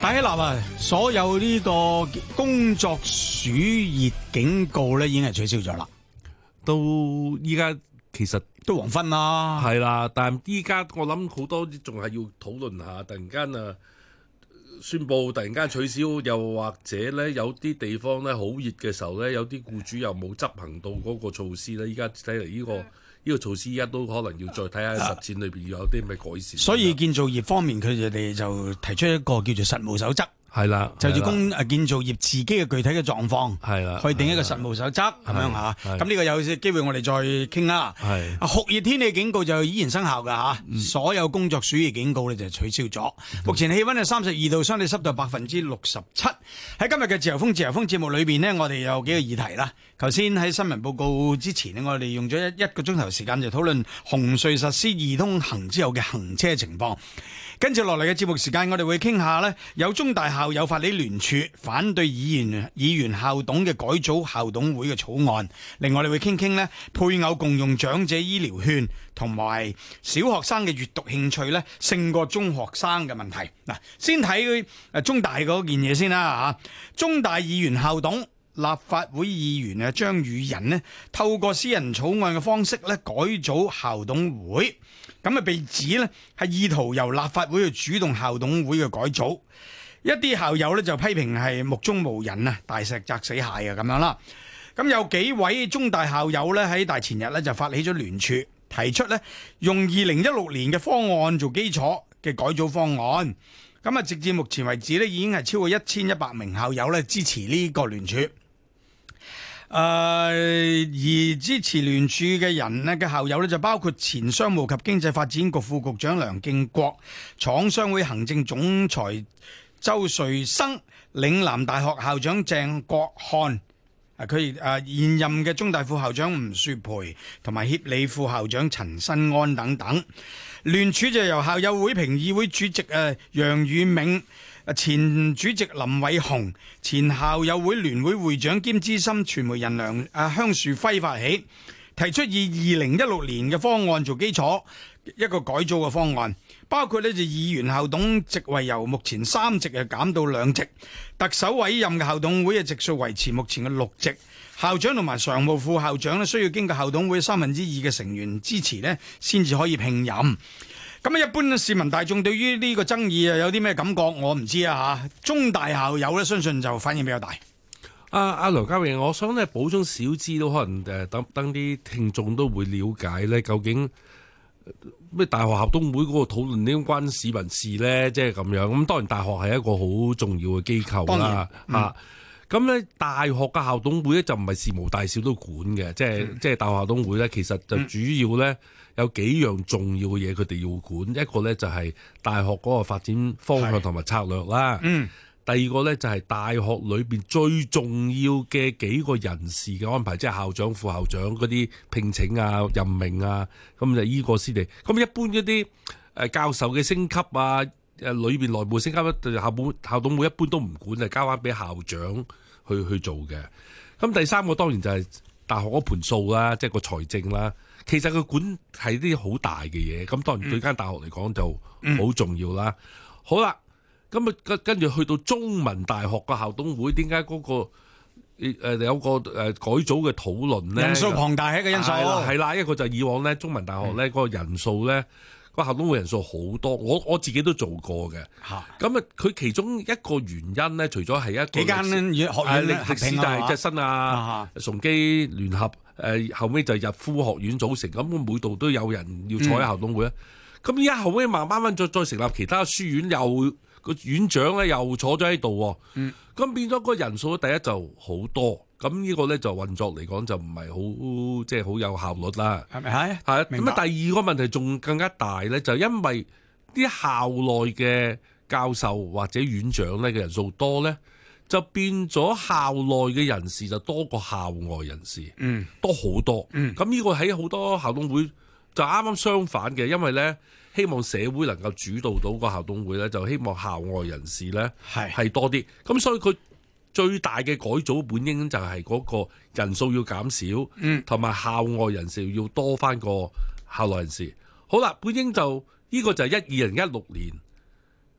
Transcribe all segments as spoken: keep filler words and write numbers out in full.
大希臘啊，所有呢個工作暑熱警告咧，已經係取消咗啦。 到依家其實都黃昏啦， 係啦，但係依家我諗好多仲係要討論下，突然間啊宣佈突然間取消，又或者咧有啲地方咧好熱嘅時候咧，有啲僱主又冇執行到嗰個措施咧。依家睇嚟呢個呢、呢個措施，依家都可能要再睇下實踐裏邊要有啲咩改善。 所以建造業方面，佢哋就提出一個叫做實務守則。 係啦， 就住工誒建造業自己嘅具體嘅狀況， 係啦， 去定一個實務守則咁樣嚇。咁呢個有機會我哋再傾啦。 係酷熱天氣警告就依然生效㗎嚇， 嗯、 所有工作暑熱警告咧就取消咗。嗯、目前氣温係三十二度，相對濕度百分之六十七。喺今日嘅自由風自由風節目裏邊呢，我哋有幾個議題啦。頭先喺新聞報告之前呢，我哋用咗一一個鐘頭時間就討論紅隧實施易通行之後嘅行車情況。跟住落嚟嘅節目時間，我哋會傾下呢，有中大校友法理聯署反對議員議員校董嘅改組校董會嘅草案。另外，我哋會傾傾呢配偶共用長者醫療券同埋小學生嘅閱讀興趣呢勝過中學生嘅問題。嗱，先睇誒中大嗰件嘢先啦嚇。中大議員校董立法會議員啊張宇人呢透過私人草案嘅方式呢改組校董會。咁啊，被指呢係意圖由立法會去主動校董會嘅改組，一啲校友呢就批評係目中無人啊，大石砸死蟹啊咁樣啦。咁有幾位中大校友呢喺大前日呢就發起咗聯署，提出呢用二零一六年嘅方案做基礎嘅改組方案。咁啊，直至目前為止呢已經係超過一千一百名校友呢支持呢個聯署。誒、呃、而支持聯署嘅人呢嘅校友呢，就包括前商務及經濟發展局副局長梁敬國、廠商會行政總裁周瑞生、嶺南大學校長鄭國漢，啊佢誒現任嘅中大副校長吳雪培同埋協理副校長陳新安等等。聯署就由校友會評議會主席誒楊宇銘、前主席林偉雄、前校友會聯會會長兼資深傳媒人梁啊香樹輝發起，提出以二零一六年嘅方案做基礎，一個改組嘅方案，包括呢就議員校董席位由目前三席啊減到兩席，特首委任嘅校董會嘅席數維持目前嘅六席，校長同埋常務副校長呢需要經過校董會三分之二嘅成員支持呢先至可以聘任。咁啊，一般市民大眾對於呢個爭議啊有啲咩感覺？我唔知啊嚇。中大校友咧，相信就反應比較大。 阿阿梁家榮，我想咧補充少資都可能誒，等等啲聽眾都會了解咧，究竟咩大學校董會嗰個討論點關市民事咧？即係咁樣。咁當然大學係一個好重要嘅機構啦，嚇。咁咧大學嘅校董會咧就唔係事無大小都管嘅，即係即係大學校董會咧，其實就主要咧。有幾樣重要嘅嘢佢哋要管，一個咧就係大學嗰個發展方向同埋策略啦。嗯，第二個咧就係大學裏邊最重要嘅幾個人事嘅安排，即係校長、副校長嗰啲聘請啊、任命啊，咁就依個先嚟。咁一般嗰啲誒教授嘅升級啊，誒裏邊內部升級咧，校本校董會一般都唔管，就交翻俾校長去去做嘅。咁第三個當然就係大學嗰盤數啦，即係個財政啦。其實佢管係啲好大嘅嘢，咁當然對間大學嚟講就好重要啦。嗯、好啦，咁啊跟跟住去到中文大學個校董會，點解嗰個誒、呃、有個誒改組嘅討論咧？人數龐大係一個因素。 係啦，一個就以往咧中文大學咧嗰個人數咧。個校董會人數好多，我我自己都做過嘅。咁啊，佢其中一個原因咧，除咗係一個幾間學院歷史大係即新啊、崇基聯合，誒後尾就日夫學院組成，咁每度都有人要坐喺校董會啊。咁而家後尾慢慢慢再再成立其他書院，又個院長咧又坐咗喺度。嗯，咁變咗個人數第一就好多。咁呢個咧就運作嚟講就唔係好即係好有效率啦， 係咪係？ 係咁啊！第二個問題仲更加大咧，就因為啲校內嘅教授或者院長咧嘅人數多咧，就變咗校內嘅人士就多過校外人士，嗯，多好多，嗯。咁呢個喺好多校董會就啱啱相反嘅，因為咧希望社會能夠主導到個校董會咧，就希望校外人士咧係係多啲，咁所以佢。最大嘅改組本應就係嗰個人數要減少，同埋、嗯、校外人士要多翻個校內人士。好啦，本應就呢、這個就係一二零一六年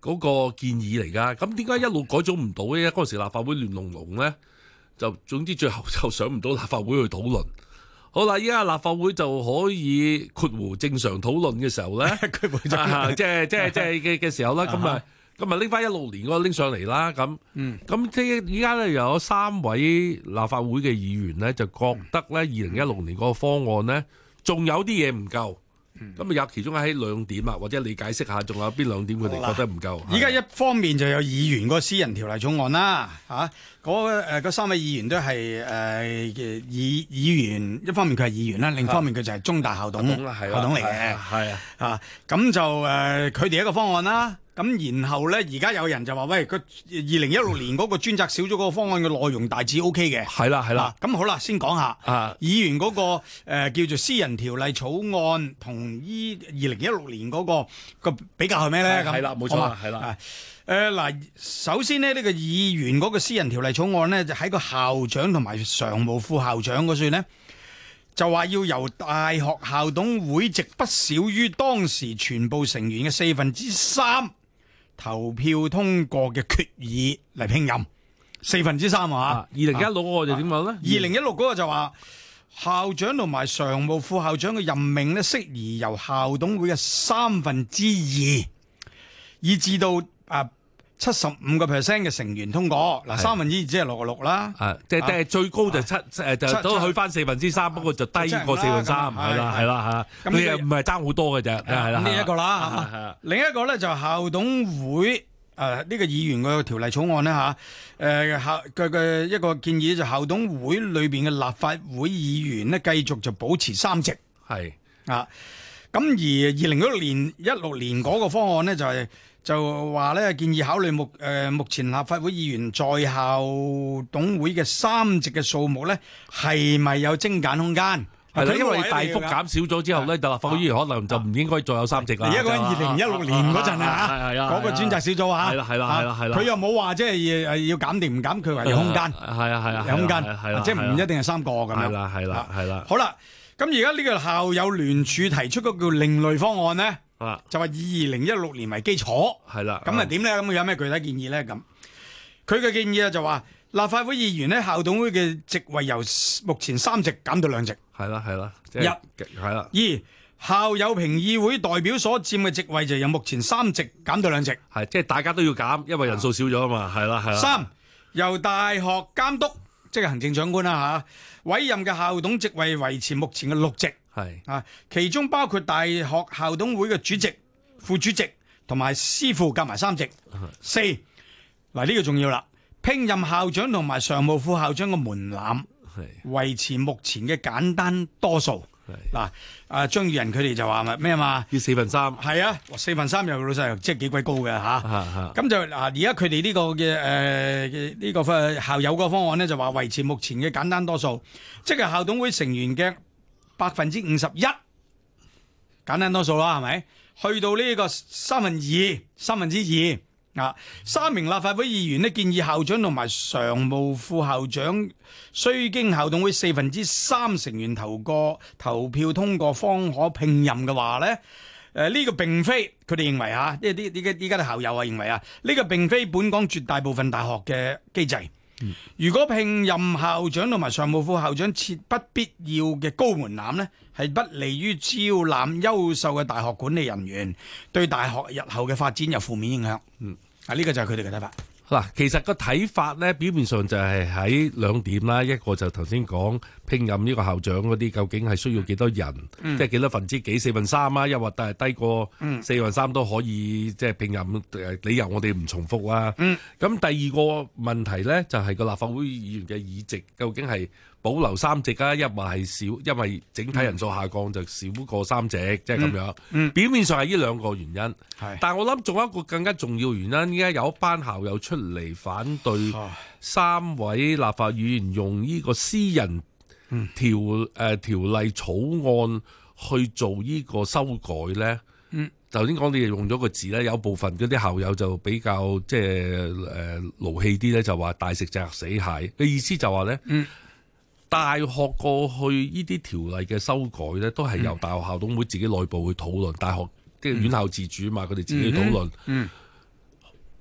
嗰個建議嚟㗎。咁點解一路改組唔到咧？嗰陣時立法會亂龍龍咧，就總之最後就上唔到立法會去討論。好啦，依家立法會就可以括弧正常討論嘅時候咧， 佢即係即係即係嘅嘅時候啦，咁啊咁啊拎翻一六年嗰個拎上嚟啦，咁咁即係依家咧又有三位立法會嘅議員咧，就覺得咧二零一六年嗰個方案咧，仲有啲嘢唔夠。咁啊有其中喺兩點啊，或者你解釋下，仲有邊兩點佢哋覺得唔夠？ 依家一方面就有議員個私人條例草案啦，嚇嗰誒嗰三位議員都係誒嘅議議員，一方面佢係議員啦，另一方面佢就係中大校董校董嚟嘅， 係啊， 啊咁就誒佢哋一個方案啦。咁然後咧，而家有人就話：喂，佢二零一六年嗰個專責小組嗰個方案嘅內容大致 O K 嘅。 係啦，係啦。 咁好啦，先講下啊， 議員嗰個誒叫做私人條例草案同依二零一六年嗰個個比較係咩咧？咁係啦，冇錯啦，係啦。 誒嗱，首先呢，呢個議員嗰個私人條例草案咧，就喺個校長同埋常務副校長嗰處咧。就話要由大學校董會籍不少於當時全部成員嘅四分之三投票通過嘅決議嚟聘任，四分之三啊！ 二零一六嗰個就點講咧？ 二零一六嗰個就話校長同埋常務副校長嘅任命呢，適宜由校董會嘅三分之二，以至到啊。七十五個 percent 嘅成員通過，嗱三分之二即係六個六啦， 啊，即係即係最高就七誒就都去翻四分之三，不過就低過四分三，係啦係啦嚇，咁又唔係爭好多嘅啫，係啦。 呢一個啦，另一個咧就校董會誒呢個議員個條例草案咧嚇，誒校嘅嘅一個建議就校董會裏邊嘅立法會議員咧繼續就保持三席， 係啊，咁而二零一六年一六年嗰個方案咧就係。就話咧建議考慮目誒、呃、目前立法會議員在校董會嘅三席嘅數目咧，係咪有精簡空間？ 係啦，因為大幅減少咗之後咧，就立法會議員可能就唔應該再有三席啦。 而家講二零一六年嗰陣啊， 係啊， 嗰個專責小組啊， 係啦係啦係啦係啦， 佢又冇話即係誒要減定唔減，佢話有空間， 係啊係啊， 有空間， 係啦， 即係唔一定係三個咁樣。 係啦係啦係啦。 好啦，咁而家呢個校友聯署提出嗰個叫另類方案咧。就話以二零一六年為基礎， 係啦， 咁啊點咧？咁佢有咩具體建議咧？咁佢嘅建議啊就話立法會議員咧校董會嘅席位由目前三席減到兩席， 係啦係啦， 一係啦。 二校友評議會代表所佔嘅席位就由目前三席減到兩席， 係即係大家都要減，因為人數少咗啊嘛，係啦係啦。 三由大學監督即係行政長官啦嚇委任嘅校董席位維持目前嘅六席。 係啊，其中包括大學校董會嘅主席、副主席同埋司副夾埋三席。四嗱呢個重要啦，聘任校長同埋常務副校長嘅門檻維持目前嘅簡單多數。嗱，啊張宇人佢哋就話咪咩嘛？ 要四分三。係啊，四分三又老細即係幾鬼高嘅吓。咁就嗱，而家佢哋呢個嘅誒呢個校友個方案咧，就話維持目前嘅簡單多數，即係校董會成員嘅百分之五十一，簡單多數啦，係咪？去到呢個三分二，三分之二啊，三名立法會議員呢建議校長同埋常務副校長須經校董會四分之三成員投過投票通過方可聘任嘅話呢，誒、呃、呢、這個並非佢哋認為啊，呢啲呢啲依家啲校友啊認為啊，呢、這個並非本港絕大部分大學嘅機制。如果聘任校長同埋常務副校長設不必要嘅高門檻呢，係不利於招攬優秀嘅大學管理人員，對大學日後嘅發展有負面影響。嗯，啊呢個就係佢哋嘅睇法。 嗱，其實個睇法咧，表面上就係喺兩點啦，一個就頭先講聘任呢個校長嗰啲，究竟係需要幾多人，嗯、即係幾多分之幾四分三啊，又或者係低過四分三都可以即係聘任，理由我哋唔重複啦。咁、嗯、第二個問題咧，就係、是、個立法會議員嘅議席究竟係保留三席啊，一或係少，因為整體人數下降就少過三席，即係咁樣。嗯嗯、表面上係呢兩個原因，但係我諗仲有一個更加重要原因，依家有一班校友出嚟反對三位立法議員用呢個私人條誒、呃、條例草案去做呢個修改咧。頭先講你用咗個字咧，有部分嗰啲校友就比較即係誒勞氣啲咧，就話大石砸死蟹嘅意思就話咧。嗯大學過去呢啲條例嘅修改咧，都係由大學校董會自己內部去討論。大學即係院校自主嘛，佢哋自己去討論。嗯嗯、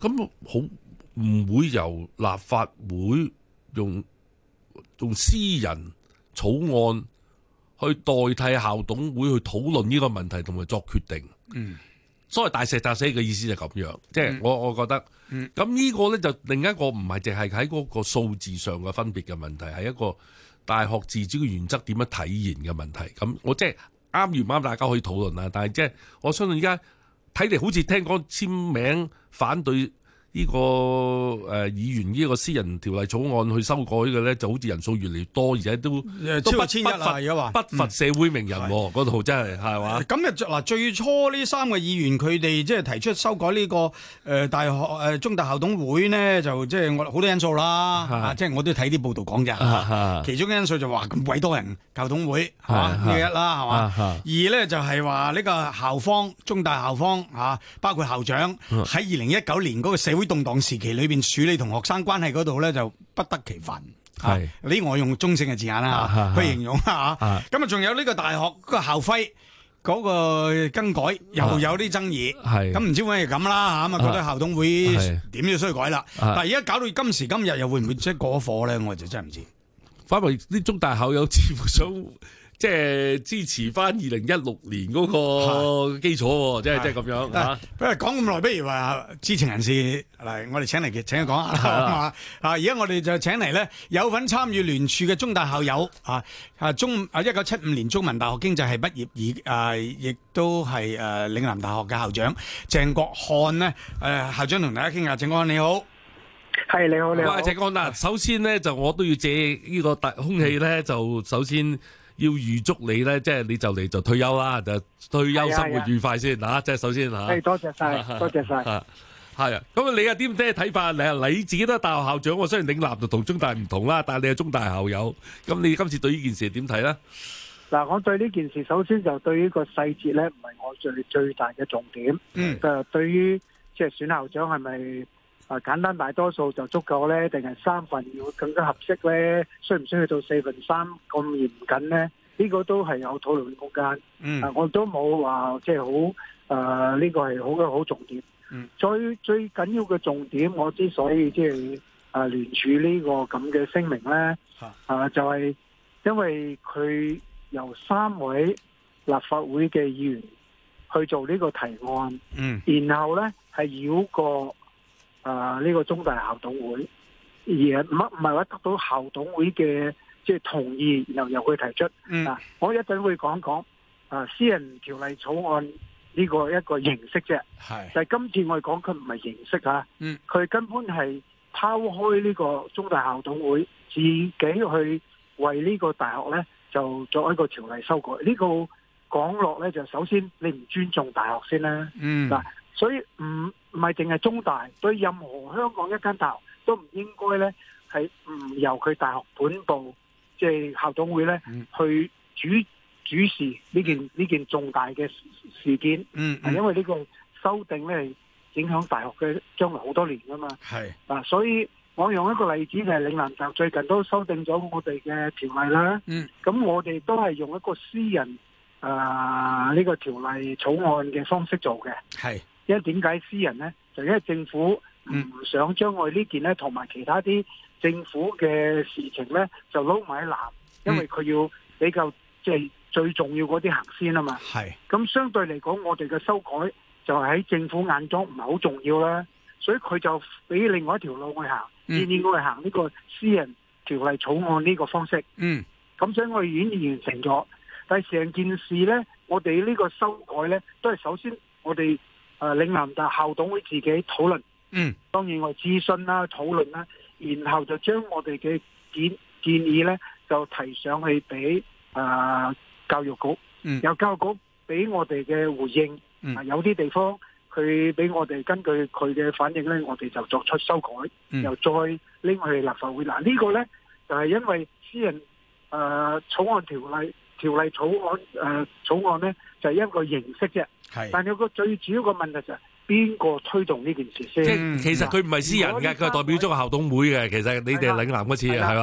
咁好唔會由立法會用用私人草案去代替校董會去討論呢個問題同埋作決定。 嗯， 所謂大石砸死嘅意思就係咁樣，即係、 嗯、 我我覺得，咁、 嗯、 呢個咧就另一個唔係淨係喺嗰個數字上嘅分別嘅問題，係一個大學自主嘅原則點樣體現嘅問題。咁我即係啱與唔啱，大家可以討論啦。但係即係我相信而家睇嚟好似聽講簽名反對呢、這個誒、呃、議員呢個私人條例草案去修改嘅咧，就好似人數越嚟越多，而且都超過千一啦。而家話不乏社會名人嗰度、嗯、真係係嘛？ 咁啊嗱，最初呢三個議員佢哋即係提出修改呢、這個誒、呃、大學誒、呃、中大校董會呢，就即係我好多因素啦。即係、啊就是、我都睇啲報道講咋、啊。其中嘅因素就話咁鬼多人校董會係嘛呢一啦係嘛。二咧就係話呢個校方中大校方嚇、啊，包括校長喺二零一九年嗰個社會動盪時期裏邊處理同學生關係嗰度咧，就不得其分。係呢、啊，我用中性嘅字眼啦、啊、去形容啦嚇。咁啊，仲有呢個大學嗰個校徽嗰個更改，又有啲爭議。係咁唔知會係咁啦嚇，咁啊覺得校董會點都需要改啦。但係而家搞到今時今日，又會唔會即係過火咧？我就真係唔知。反為啲中大校友似乎想。即係支持翻二零一六年嗰個基礎，即係即係咁樣嚇。不如講咁耐，不如話知情人士嚟，我哋請嚟請佢講下啦。啊，而家我哋就請嚟咧有份參與聯署嘅中大校友啊啊中啊一九七五年中文大學經濟系畢業，而啊亦都係誒嶺南大學嘅校長鄭國漢呢。誒校長同大家傾下，鄭國漢你好。 係你好，你好。 鄭國漢嗱，首先呢，就我都要借呢個大空氣咧，就首先。要預祝你咧，即係你就嚟就退休啦，就退休生活愉快先嚇。即係首先嚇。係多謝晒，多謝晒。 係啊，咁你有啲咩睇法？你你自己都係大學校長，我雖然嶺南就同中大唔同啦，但係你係中大校友，咁你今次對呢件事點睇咧？ 嗱，我對呢件事首先就對於個細節咧，唔係我最最大嘅重點。嗯。誒，對於即係選校長係咪啊簡單大多數就足夠咧，定係三份要更加合適咧？需唔需要到四分三咁嚴謹咧？呢、這個都係有討論空間。嗯，啊、我都冇話即係好誒，呢、呃這個係好嘅好重點。嗯，最最緊要嘅重點，我之所以即係誒聯署呢個咁嘅聲明咧，啊、呃，就係、是、因為佢由三位立法會嘅議員去做呢個提案，嗯，然後咧係繞過誒呢、這個中大校董會，而唔唔係話得到校董會嘅。即係同意，然後由佢提出。嗯，啊，我一陣會講講啊，私人條例草案呢個一個形式啫。係，但係今次我哋講佢唔係形式嚇。嗯，佢根本係拋開呢個中大校董會，自己去為呢個大學咧就作一個條例修改。呢個講落咧就首先你唔尊重大學先啦。嗯，嗱，所以唔唔係淨係中大，對任何香港一間大學都唔應該咧係唔由佢大學本部。即係校董會咧，去主主持呢件呢件重大嘅事件，嗯，係、嗯、因為呢個修訂咧係影響大學嘅將來好多年噶嘛，係啊，所以我用一個例子就係嶺南大學最近都修訂咗我哋嘅條例啦，嗯，咁我哋都係用一個私人啊呢、這個條例草案嘅方式做嘅，係，因為點解私人咧？就因為政府唔想將我哋呢件咧同埋其他啲。政府嘅事情咧就撈埋一籃，因為佢要比較即係最重要嗰啲行先啊嘛。係，咁相對嚟講，我哋嘅修改就喺政府眼中唔係好重要啦，所以佢就俾另外一條路去行，建議我哋行呢個私人條例草案呢個方式。嗯，咁所以我哋已經完成咗，但係成件事咧，我哋呢個修改咧都係首先我哋誒嶺南大校董會自己討論。嗯，當然我哋諮詢啦、討論啦。然後就將我哋嘅建建議咧，就提上去俾啊、呃、教育局，嗯、由教育局俾我哋嘅回應。嗯、啊，有啲地方佢俾我哋根據佢嘅反應咧，我哋就作出修改，嗯、又再拎去立法會。嗱、這個、呢個咧就係、是、因為私人誒、呃、草案條例條例草案誒、呃、草案咧就係、是、一個形式啫。係，但有個最主要嘅問題就係、是。邊個推動呢件事先？即係其實佢唔係私人嘅，佢係代表咗個校董會嘅。其實你哋嶺南嗰次係嘛？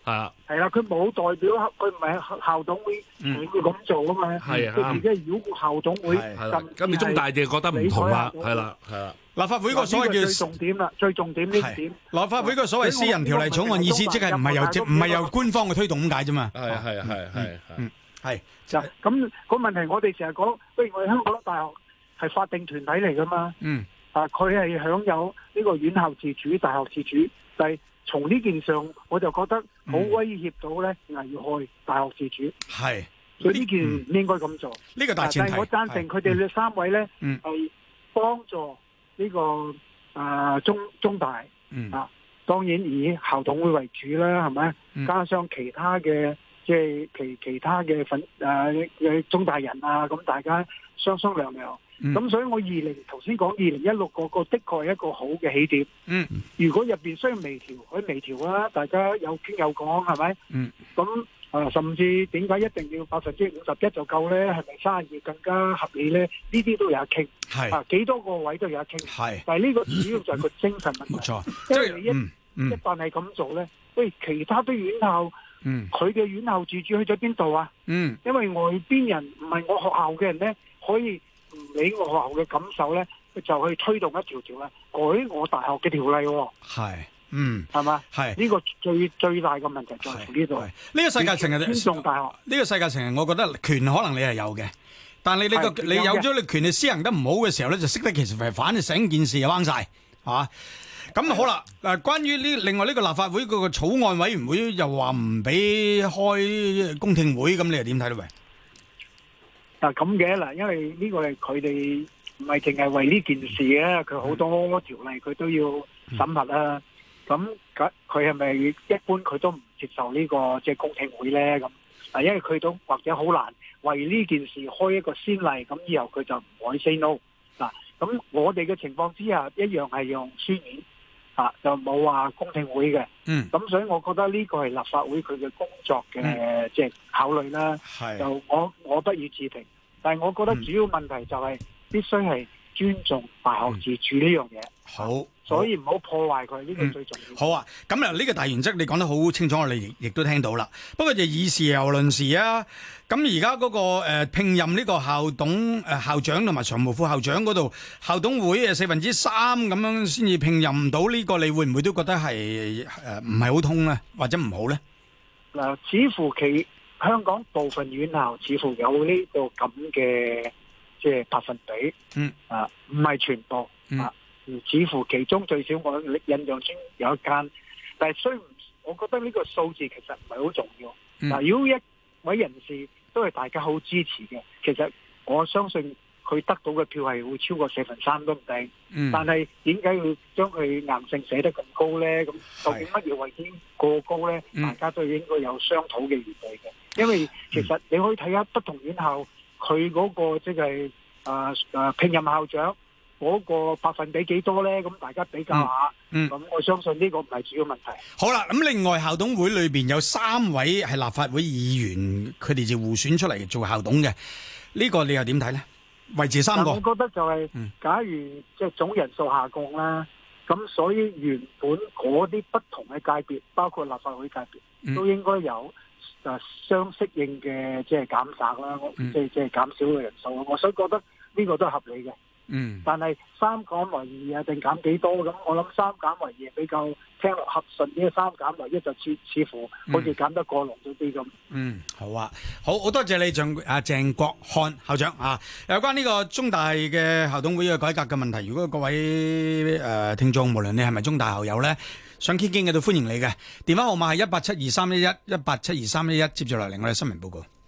係啊， 係啦，佢冇代表，佢唔係校董會佢會咁做啊嘛。 係啊， 佢而家繞過校董會， 係啦。咁你中大就覺得唔同啦，係啦，係啦。 立法會個所謂叫最重點啦，最重點呢點。 立法會個所謂私人條例草案意思，即係唔係由唔係由官方嘅推動咁解啫嘛。 係啊，係啊，係啊，係啊， 係就咁個問題，我哋成日講，不如我哋香港大學係法定團體嚟噶嘛。 嗯。 啊，佢係享有呢個院校自主、大學自主，但係從呢件上，我就覺得好威脅到咧，危害大學自主。 係， 所以呢件唔應該咁做。 呢個大前提。 但係我贊成佢哋呢三位咧，係幫助呢個啊中中大啊，當然以校董會為主啦，係咪？加上其他嘅即係其其他嘅份誒嘅中大人啊，咁大家商商量量。咁、嗯、所以我二零頭先講二零一六個個的確係一個好嘅起點。 嗯， 如果入邊需要微調，可以微調啦，大家有傾有講，係咪？ 嗯， 咁啊，甚至點解一定要百分之五十一就夠咧？係咪三十二更加合理咧？呢啲都有得傾。 係啊， 幾多個位都有得傾。 係， 但係呢個主要就係個精神問題。 冇錯， 因為你一、 嗯嗯、 一旦係咁做咧，喂，其他啲院校， 嗯，佢嘅院校自主去咗邊度啊？ 嗯， 因為外邊人唔係我學校嘅人咧，可以。唔理我學校嘅感受咧，就去推動一條條咧改我大學嘅條例。 係，嗯， 係嘛？ 係呢個最最大嘅問題就係呢度。 呢個世界成日尊重大學。 呢個世界成日，我覺得權可能你係有嘅，但係你呢個你有咗你權，你施行得唔好嘅時候咧，就識得其實係反成件事就彎晒，係嘛？咁好啦，嗱，關於呢另外呢個立法會嗰個草案委員會又話唔俾開公聽會，咁你又點睇咧？喂？ 嗱咁嘅嗱，因為呢個係佢哋唔係淨係為呢件事嘅，佢好多條例佢都要審核啦。咁佢佢係咪一般佢都唔接受呢個即係公聽會咧？咁嗱，因為佢都或者好難為呢件事開一個先例，咁以後佢就唔可以 say no。嗱，咁我哋嘅情況之下一樣係用書面啊，就冇話公聽會嘅。 嗯。 咁所以我覺得呢個係立法會佢嘅工作嘅即係考慮啦。 係。 就我我不予置評。但係我覺得主要問題就係必須係尊重大學自主呢樣嘢。 好， 所以唔好破壞佢，呢個最重要。 好啊，咁啊呢個大原則你講得好清楚，我哋亦亦都聽到啦。不過就以事又論事啊。咁而家嗰個誒聘任呢個校董誒校長同埋常務副校長嗰度，校董會誒四分之三咁樣先至聘任到呢個，你會唔會都覺得係誒唔係好通咧，或者唔好咧？ 嗱，似乎其香港部分院校似乎有呢個咁嘅即係百分比， 嗯啊，唔係全部、 嗯、 啊，似乎其中最少我印象中有一間，但係雖唔，我覺得呢個數字其實唔係好重要。嗱、 嗯啊， 如果一位人士都係大家好支持嘅，其實我相信佢得到嘅票係會超過四分三都唔定。嗯、但係點解要將佢硬性寫得咁高咧？咁究竟乜嘢為之過高咧？ 嗯、 大家都應該有商討嘅餘地嘅。因為其實你可以睇下不同院校佢嗰個即係誒誒聘任校長嗰個百分比幾多咧？咁大家比較下，咁、嗯嗯、我相信呢個唔係主要問題。 好啦，咁另外校董會裏邊有三位係立法會議員，佢哋就互選出嚟做校董嘅，呢、呢個你又點睇咧？維持三個， 我覺得就係、是嗯、假如即係總人數下降啦，咁所以原本嗰啲不同嘅界別，包括立法會界別，嗯、都應該有。就相適應嘅即係減省啦，即係即係減少嘅人數，我所以覺得呢個都係合理嘅。嗯，但係三減為二啊，定減幾多咁？我諗三減為二比較聽落合順啲，三減為一就似似乎好似減得過濃咗啲咁。嗯， 好啊，好好多謝你鄭啊鄭國漢校長啊，有關呢個中大嘅校董會嘅改革嘅問題，如果各位誒、呃、聽眾，無論你係咪中大校友咧，想傾傾嘅都歡迎你嘅，電話號碼係一八七二三一一一八七二三一一，接住落嚟我哋新聞報告。